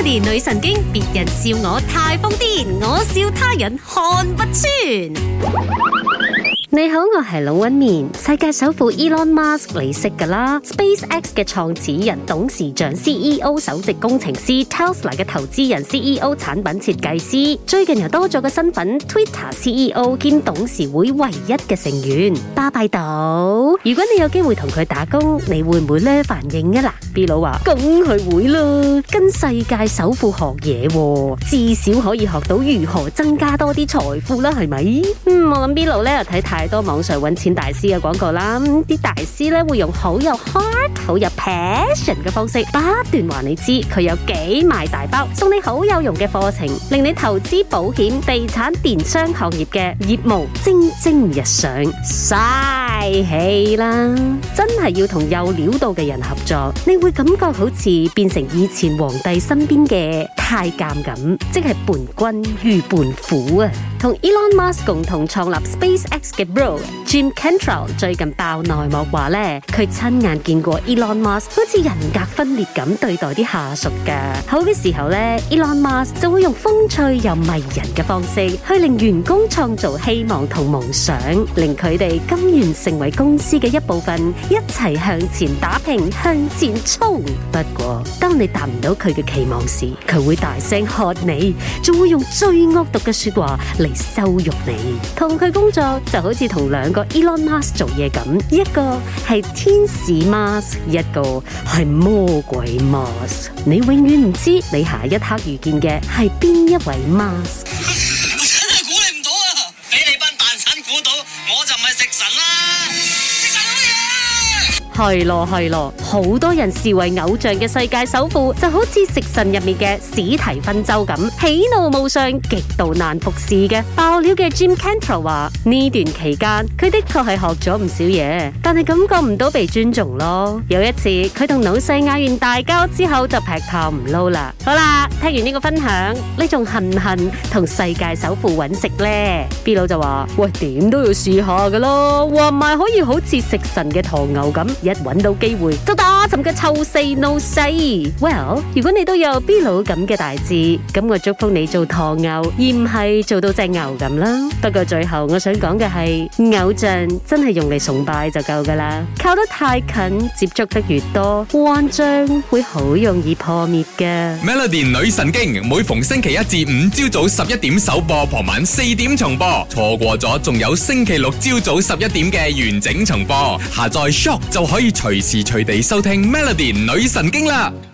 Melody 女神經，別人笑我太瘋癲，我笑他人看不穿。你好，我係龍紋敏。世界首富 Elon Musk 你識㗎啦 ，SpaceX 嘅創始人、董事長、CEO、首席工程師 ，Tesla 嘅投資人、CEO、產品設計師，最近又多咗個身份 ，Twitter CEO 兼董事會唯一嘅成員，巴閉島。如果你有機會同佢打工，你會唔會呢反應啊？嗱 ，B 佬話梗係會啦，跟世界首富學嘢，至少可以學到如何增加多啲財富啦，係咪？我諗 B 佬咧又睇太多網上搵錢大師嘅廣告啦，啲大師咧會用好有 heart、好有 passion 嘅方式，不斷話你知佢有幾賣大包，送你好有用嘅課程，令你投資、保險、地產、電商行業嘅業務蒸蒸日上，嘥氣啦！真係要同有料到嘅人合作，你會感覺好似變成以前皇帝身邊嘅太監咁，即係伴君如伴虎啊！同 Elon Musk 共同創立 SpaceX 嘅 Bro Jim Cantrell 最近爆內幕話咧，佢親眼見過 Elon Musk 好似人格分裂咁對待啲下屬噶。好嘅時候咧 ，Elon Musk 就會用風趣又迷人嘅方式去令員工創造希望同夢想，令佢哋甘願成為公司嘅一部分，一齊向前打拼，向前衝。不過，當你達唔到佢嘅期望時，佢會大聲喝你，仲會用最惡毒嘅說話嚟羞辱你。同佢工作就好似同兩個 Elon Musk 做嘢咁，一個係天使 Musk， 一個係魔鬼 Musk。你永遠唔知你下一刻遇見嘅係邊一位 Musk。 我真係估你唔到啊！俾你班蛋散估到，我就唔係食神啦！食神乜嘢？ 係咯，好多人視為偶像嘅世界首富，就好似食神入面嘅史提芬周咁，喜怒無常，極度難服侍嘅。爆料嘅 Jim Cantrell 話呢段期間，佢的確係學咗唔少嘢，但係感覺唔到被尊重咯。有一次，佢同老細嗌完大交之後，就劈頭唔撈啦。好啦，聽完呢個分享，你仲恨唔恨同世界首富揾食呢？ B 佬就話：喂，點都要試下噶咯，話唔係可以好似食神嘅唐牛咁。一揾到機會就打沉嘅臭四 no 四。Well， 如果你都有 B 佬咁嘅大志，咁我祝福你做唐牛，而唔係做到隻牛咁啦。不過最後我想講嘅係，偶像真係用嚟崇拜就夠噶啦，靠得太近，接觸得越多，幻象會好容易破滅噶。 Melody 女神經每逢星期一至五朝早11點首播，傍晚4點重播，錯過咗仲有星期六朝早11點嘅完整重播。下載 Shock 就可以隨時隨地收聽 Melody 女神經啦。